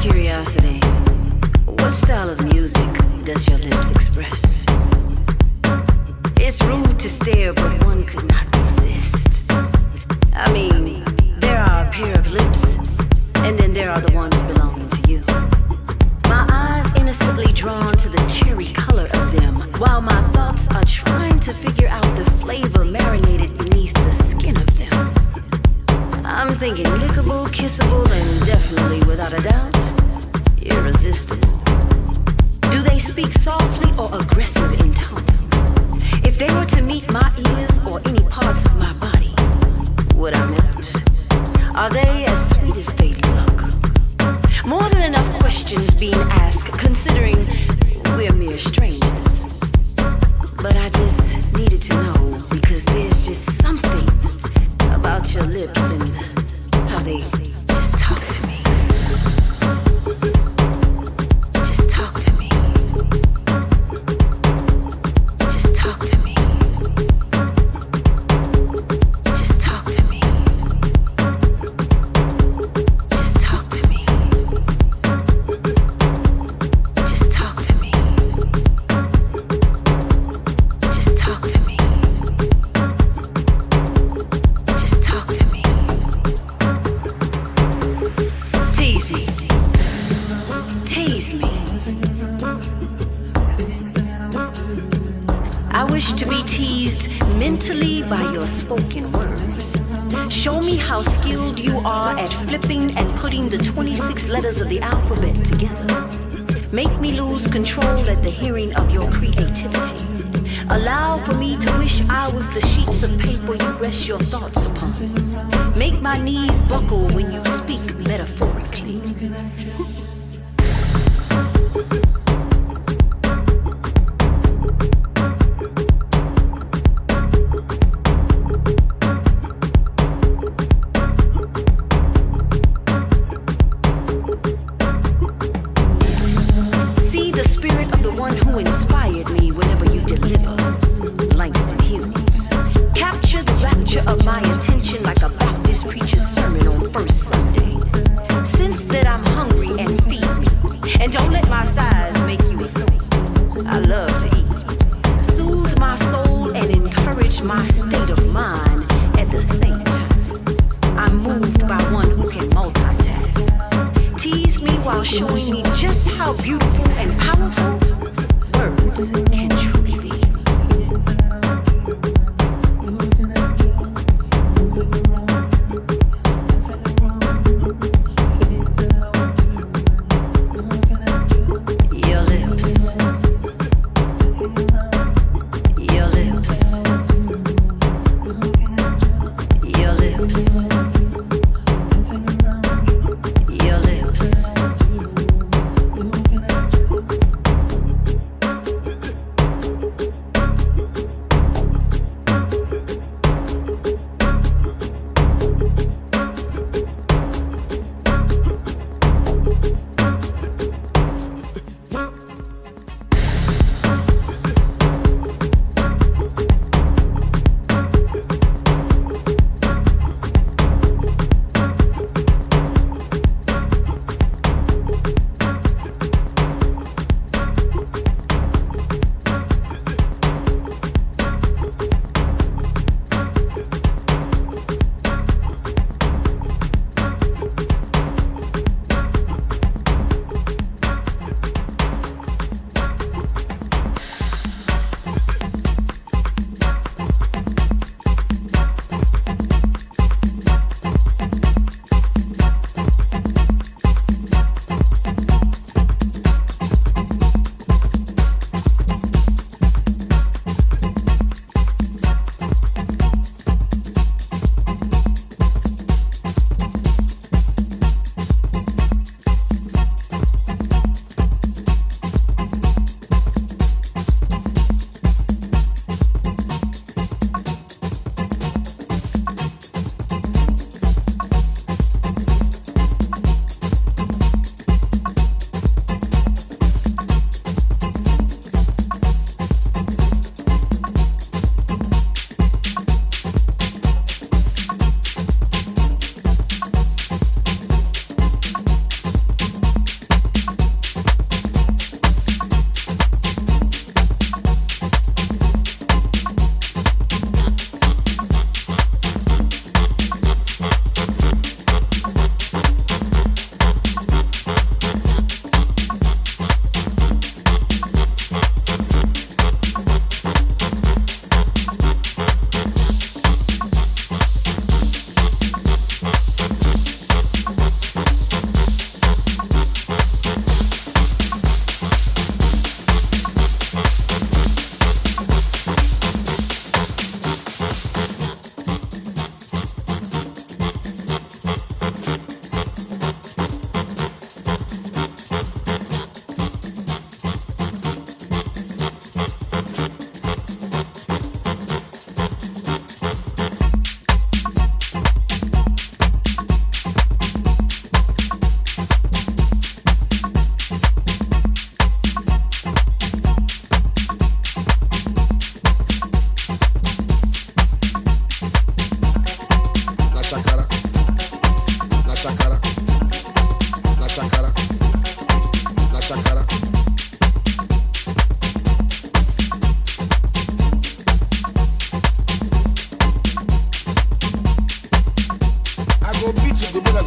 curiosity, what style of music does your lips express? It's rude to stare, but one could not resist. I mean, there are a pair of lips, and then there are the ones belonging to you. My eyes innocently drawn to the cherry color of them, while my thoughts are trying to figure out the flavor marinated beneath the skin of them. I'm thinking lickable, kissable, and definitely, without a doubt, irresistible. Do they speak softly or aggressive in tone? If they were to meet my ears or any parts of my body, would I melt? Are they as sweet as they look? More than enough questions being asked, considering we're mere strangers. But I just needed to know, because there's just something about your lips and how they just talk to me. Just talk to me. Just talk to me. Just talk to me. Just talk to me. Just talk to me. Just talk to me. Just talk to me. Tease me. Tease me. I wish to be teased mentally by your spoken words. Show me how skilled you are at flipping and putting the 26 letters of the alphabet together. Make me lose control at the hearing of your creativity. Allow for me to wish I was the sheets of paper you rest your thoughts upon. Make my knees buckle when you speak metaphorically. See the spirit of the one who inspired me whenever you deliver. Langston Hughes. Capture the rapture of my attention like a Baptist preacher's sermon on First Sunday. Sense that I'm hungry and feed me. And don't let my size make you a soul. I love to eat. Soothe my soul and encourage my state of mind at the same time. I'm moved by one who can multitask. Tease me while showing me just how beautiful and powerful words can truly be. Your lips. Your lips. Your lips. Your lips.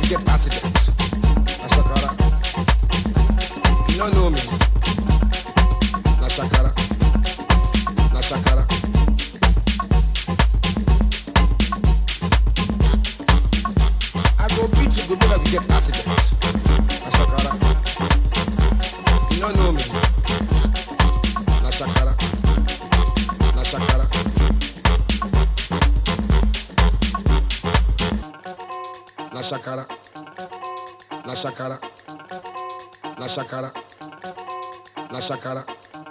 get accident. Na shakara. You don't know me. Na shakara. Na shakara. I go beat you, go never get accident. Na shakara. You don't know me. Na shakara. Na shakara. Na shakara. Na shakara. Na shakara. Na shakara.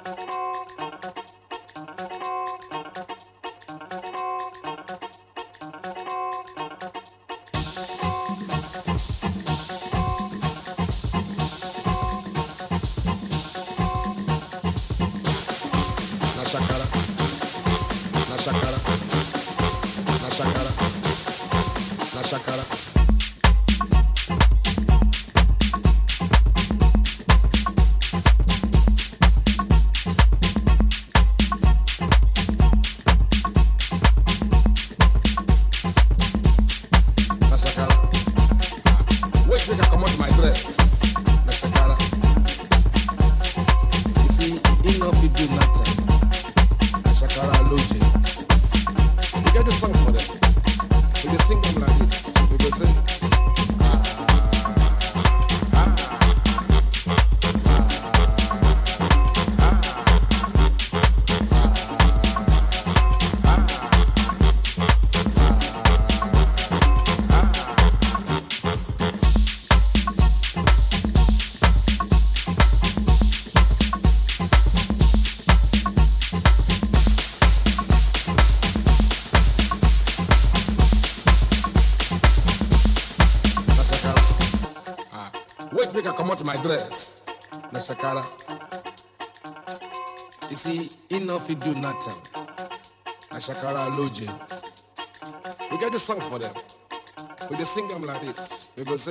My dress, na shakara. You see, enough you do nothing. Na shakara loje. We get the song for them. We just sing them like this. We go say.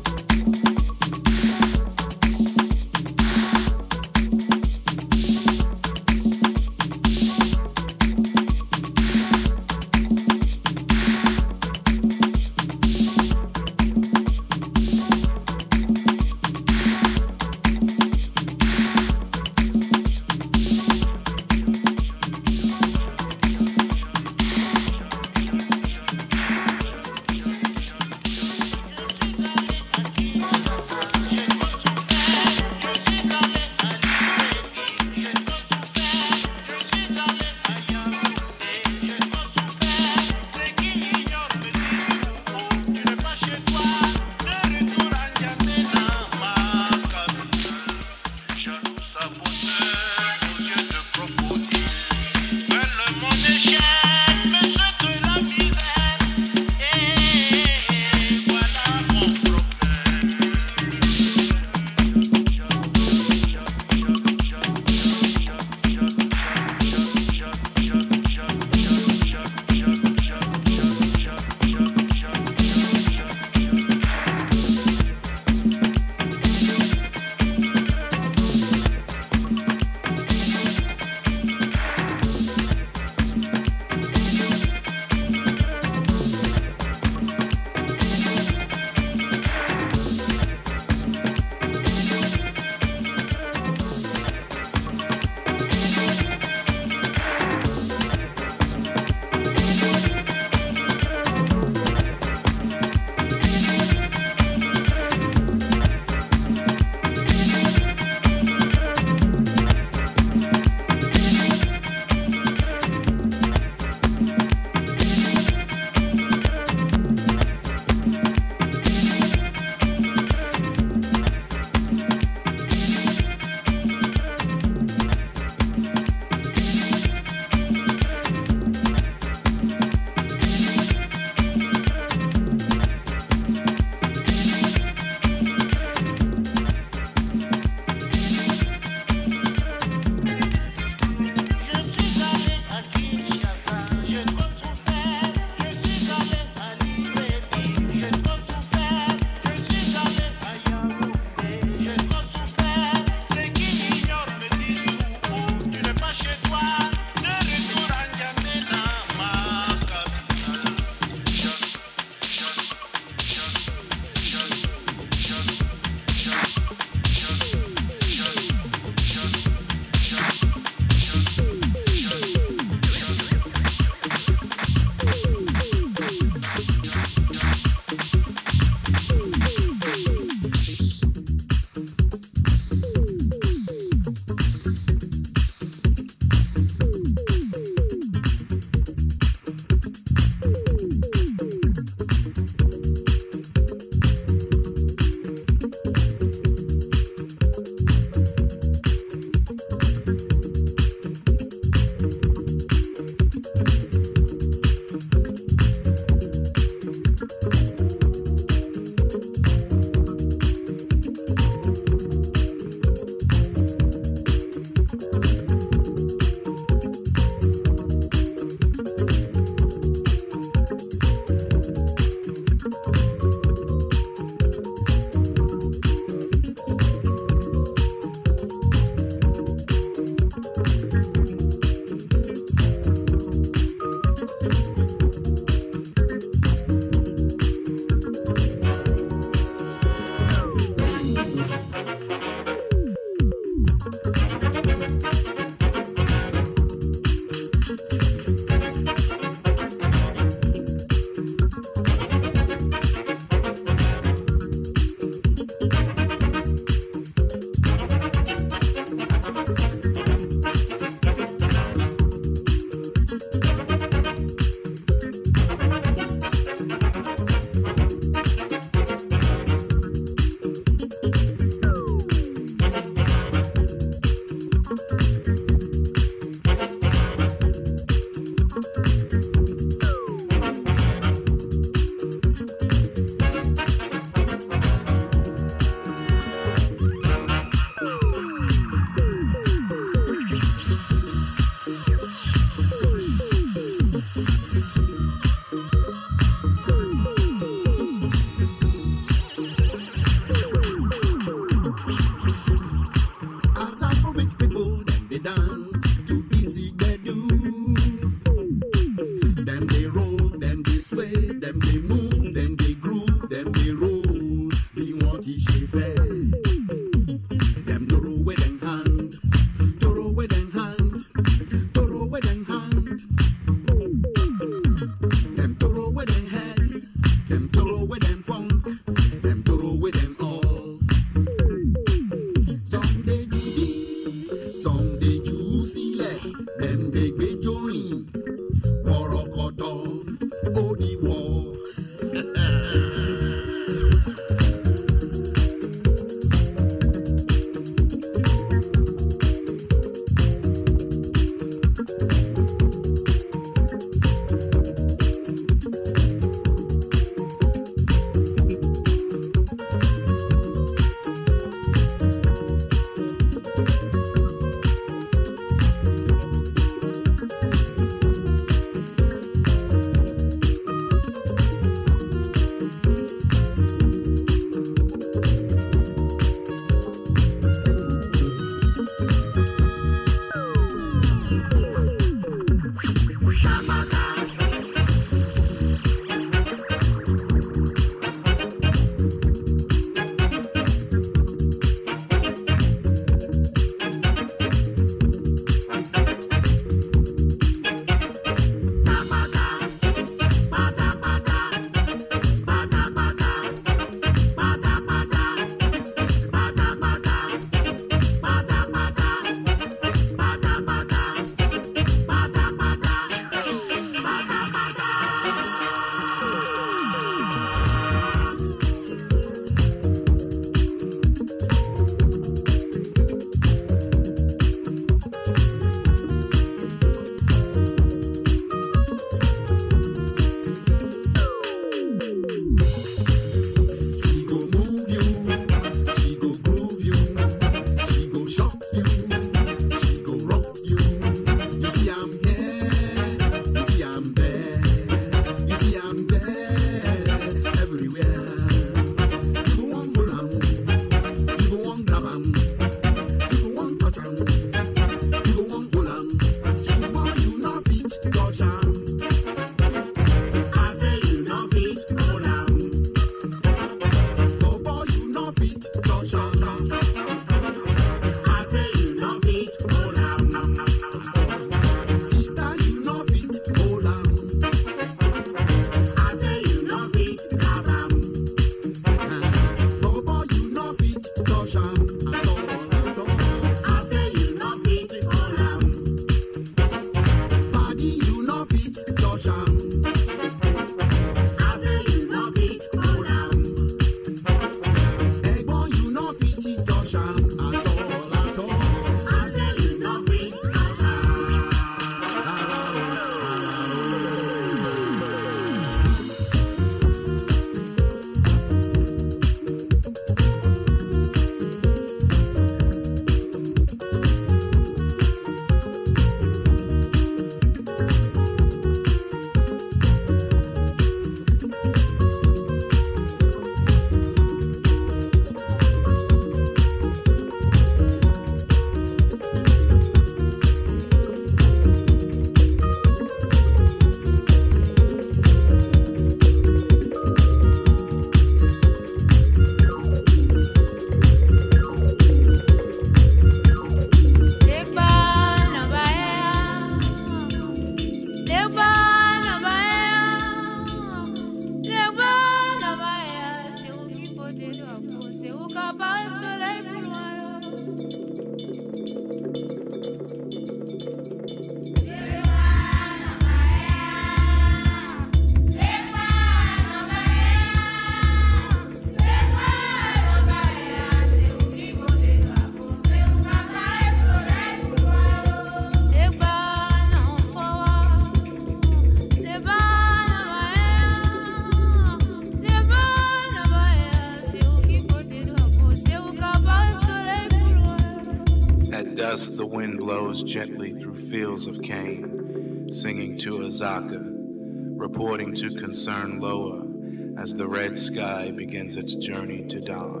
The wind blows gently through fields of cane, singing to Azaka, reporting to concern lower as the red sky begins its journey to dawn.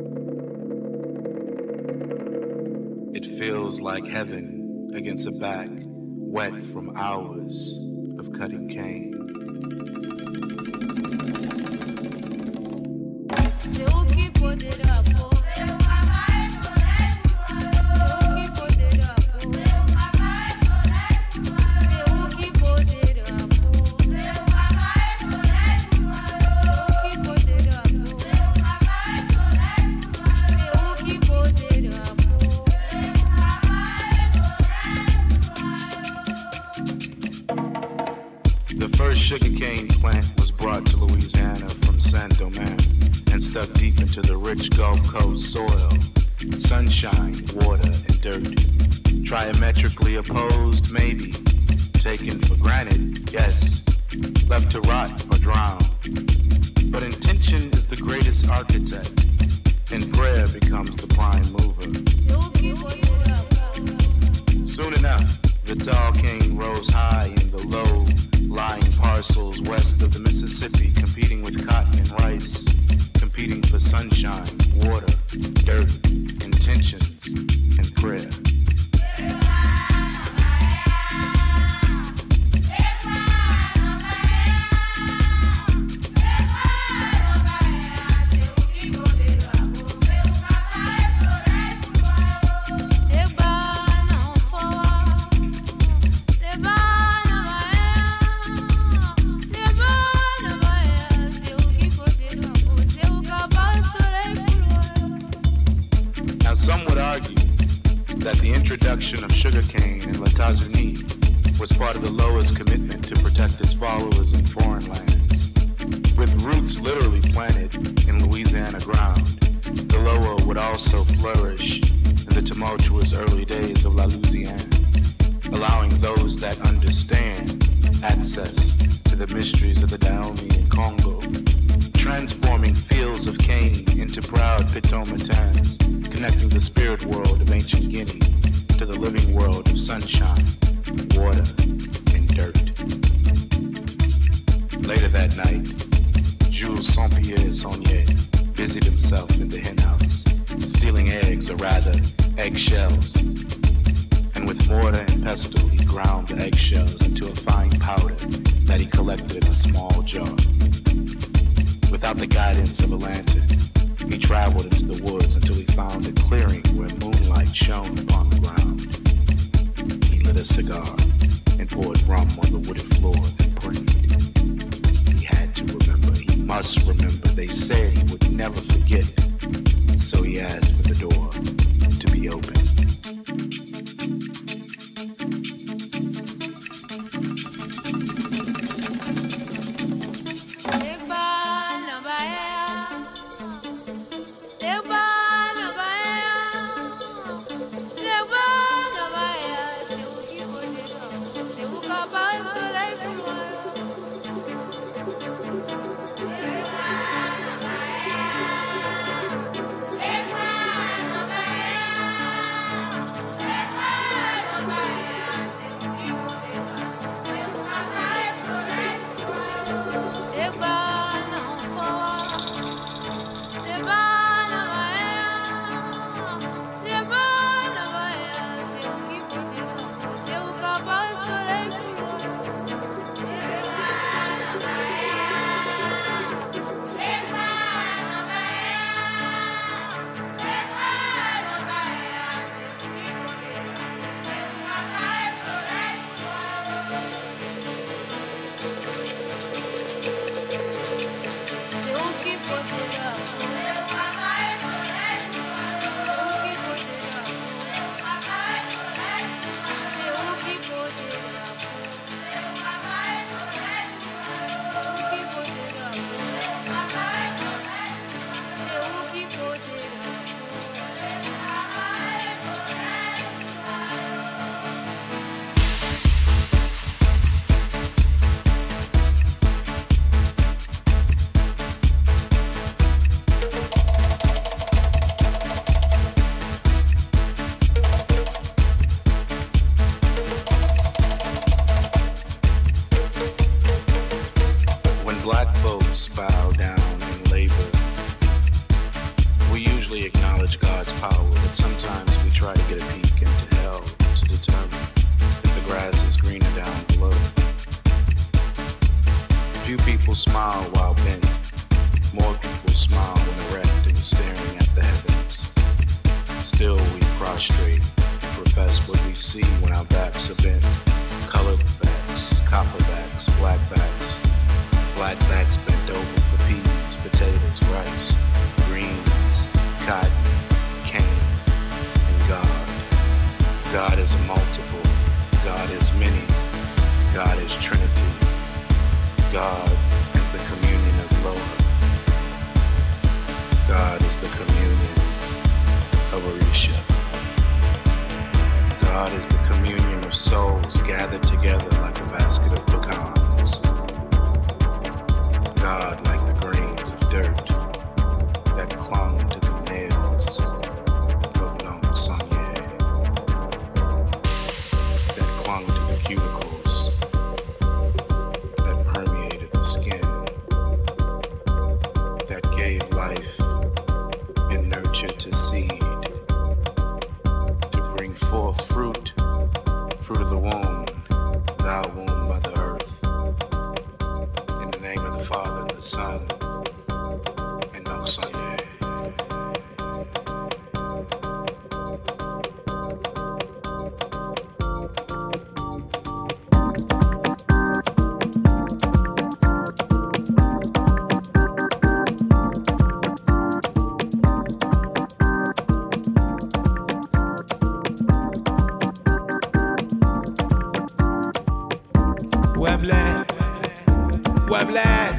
It feels like heaven against a back wet from hours of cutting cane. Sugarcane plant was brought to Louisiana from Saint-Domingue and stuck deep into the rich Gulf Coast soil. Sunshine, water, and dirt. Diametrically opposed, maybe. Taken for granted, yes. Left to rot or drown. But intention is the greatest architect, and prayer becomes the prime mover. Soon enough, the tall cane rose high in the low-lying parcels west of the Mississippi, competing with cotton and rice, competing for sunshine, water, dirt, intentions, and prayer. That the introduction of sugarcane in États-Unis was part of the Loa's commitment to protect its followers in foreign lands. With roots literally planted in Louisiana ground, the Loa would also flourish in the tumultuous early days of La Louisiane, allowing those that understand access to the mysteries of the Dahomey and Congo, transforming fields of cane into proud pitomatans, connecting the spirit world of ancient Guinea to the living world of sunshine, water, and dirt. Later that night, Jules Saint-Pierre Saunier busied himself in the henhouse, stealing eggs, or rather, eggshells. And with mortar and pestle, he ground the eggshells into a fine powder that he collected in a small jar. Without the guidance of a lantern, he traveled into the woods until he found a clearing where moonlight shone upon the ground. He lit a cigar and poured rum on the wooded floor, then prayed. He had to remember, he must remember. They said he would never forget, so he asked for the door to be open. Black folks bow down in labor. We usually acknowledge God's power, but sometimes we try to get a peek into hell to determine if the grass is greener down below. Few people smile while bent. More people smile when erect and staring at the heavens. Still we prostrate and profess what we see when our backs are bent. Colored backs, copper backs, black backs. Black backs bent over for peas, potatoes, rice, greens, cotton, cane, and God. God is a multiple. God is many. God is Trinity. God is the communion of Loa. God is the communion of Orisha. God is the communion of souls gathered together like a basket of pecans. God like the grains of dirt that clung to the nails of Nong Sanye, that clung to the cuticles, that permeated the skin, that gave life and nurture to seed, to bring forth fruit of the womb, thou womb, Mother Earth. In the name of the Father, and the Son, and Nong Sanye. Webland.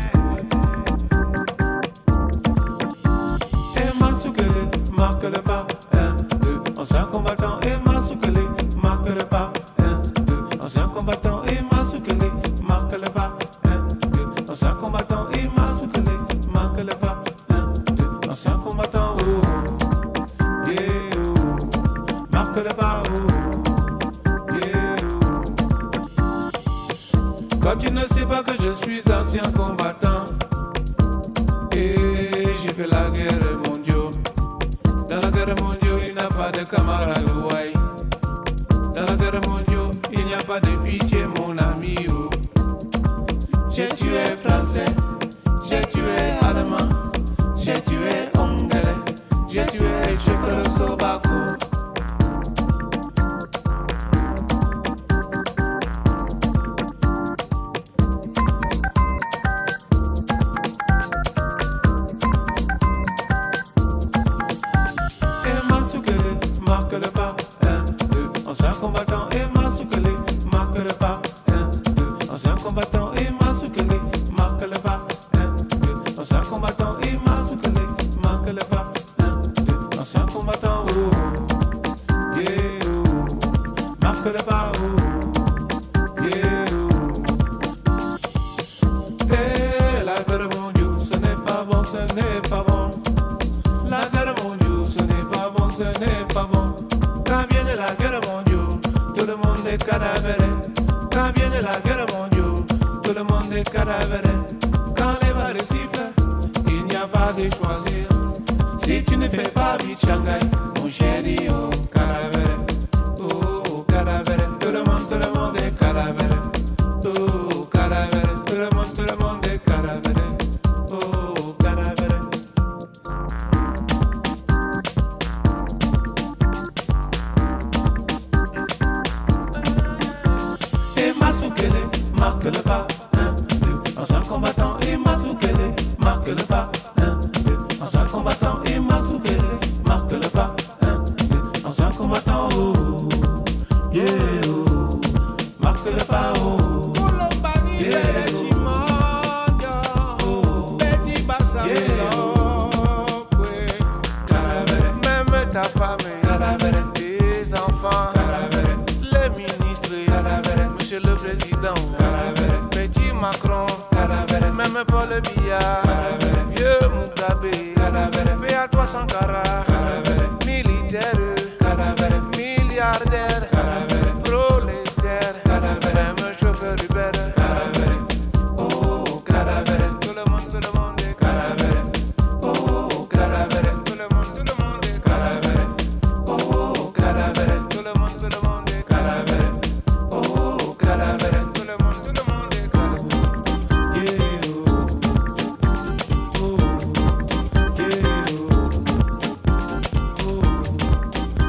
Et Masukele marque le pas. 1, 2, ancien combattant. Et Masukele marque le pas. 1, 2, ancien combattant. Et Masukele marque le pas. 1, 2, ancien combattant. Et Masukele marque le pas. 1, 2, ancien combattant. Oh, yeah, oh, marque le pas. Oh, yeah, oh. Quand tu ne sais pas que je suis ancien combattant et j'ai fait la guerre mondiale. Dans la guerre mondiale, il n'y a pas de camarade, ouais. Dans la guerre mondiale, il n'y a pas de pitié, mon ami. Oh. J'ai tué français, j'ai tué allemand, j'ai tué anglais. ce n'est pas bon. Quand vient de la guerre mondiale, tout le monde est cadavéré. Quand vient de la guerre mondiale, tout le monde est cadavéré. Quand les balles sifflent, il n'y a pas de choisir. Si tu ne fais pas vite Shanghai, mon chéri, oh cadavéré, oh cadavéré. Tout le monde est cadavéré, oh cadavéré. Tout le monde est cadavéré, oh cadavéré. Et Masukele marque le pas, 1, 2, ancien combattant. Et Masukele marque le pas, 1, 2, ancien combattant. Et Masukele marque le pas, 1, 2, ancien combattant. Oh, yeah, oh, marque le pas, oh, yeah, oh, yeah, oh, cadavéré. Même ta femme, cadavéré. Tes enfants, cadavéré. Les ministres, cadavéré. Monsieur le président, cadavéré. Petit Macron, cadavéré. Même Paul Biya, cadavéré. Vieux Mugabe, cadavéré. Paix à toi Sankara, cadavéré. Militaire, cadavéré. Milliardaire, cadavéré. Prolétaire, cadavéré. Même chauffeur Uber, cadavéré. Oh, cadavéré. Tout le monde est cadavéré. Oh, cadavéré. Tout le monde est cadavéré. Oh, cadavéré. Tout le monde est cadavéré. Oh, cadavéré. Tout le monde est cadavéré. Yeah, oh, oh, yeah, oh, oh,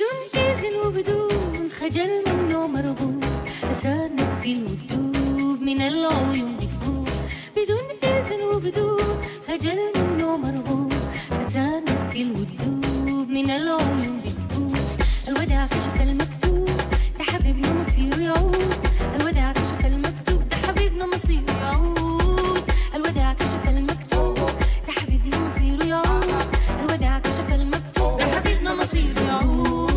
بدون إذن وبدون خجل منه مرغوب أسرارنا تزيل وتدوب من العيون بتبوب بدون إذن وبدون خجل منه مرغوب أسرارنا تزيل وتدوب من العيون بتبوب الوداع كشف المكتوب ده حبيبنا مصير يعود الوداع كشف المكتوب ده حبيبنا مصير يعود الوداع كشف المكتوب ده حبيبنا مصير يعود الوداع كشف المكتوب ده حبيبنا مصير يعود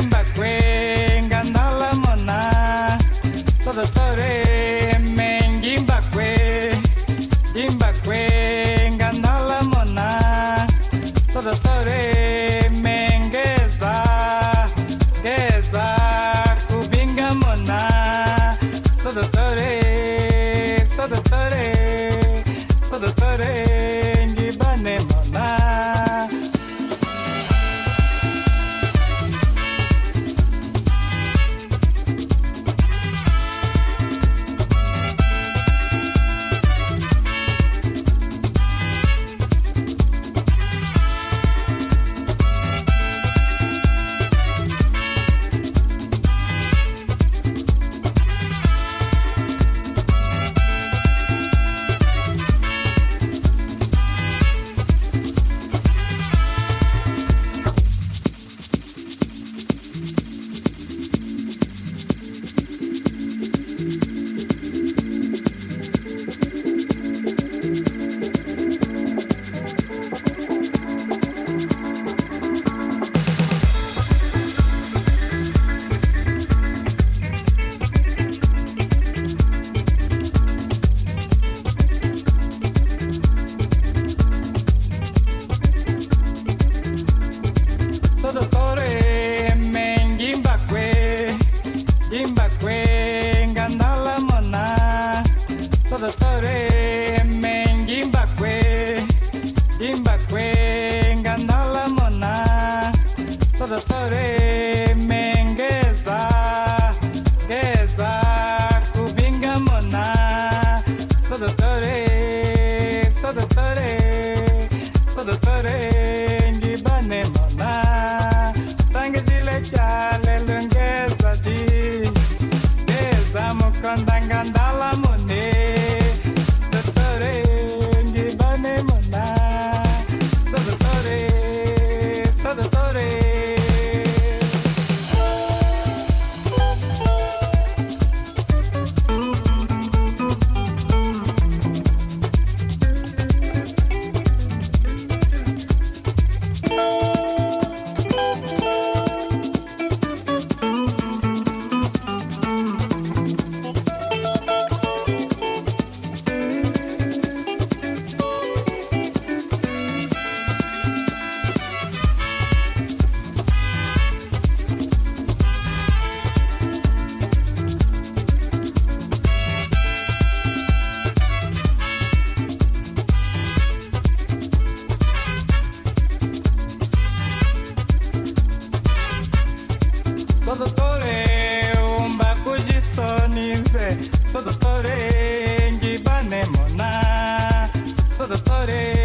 Sodotore ngibane mona Sodotore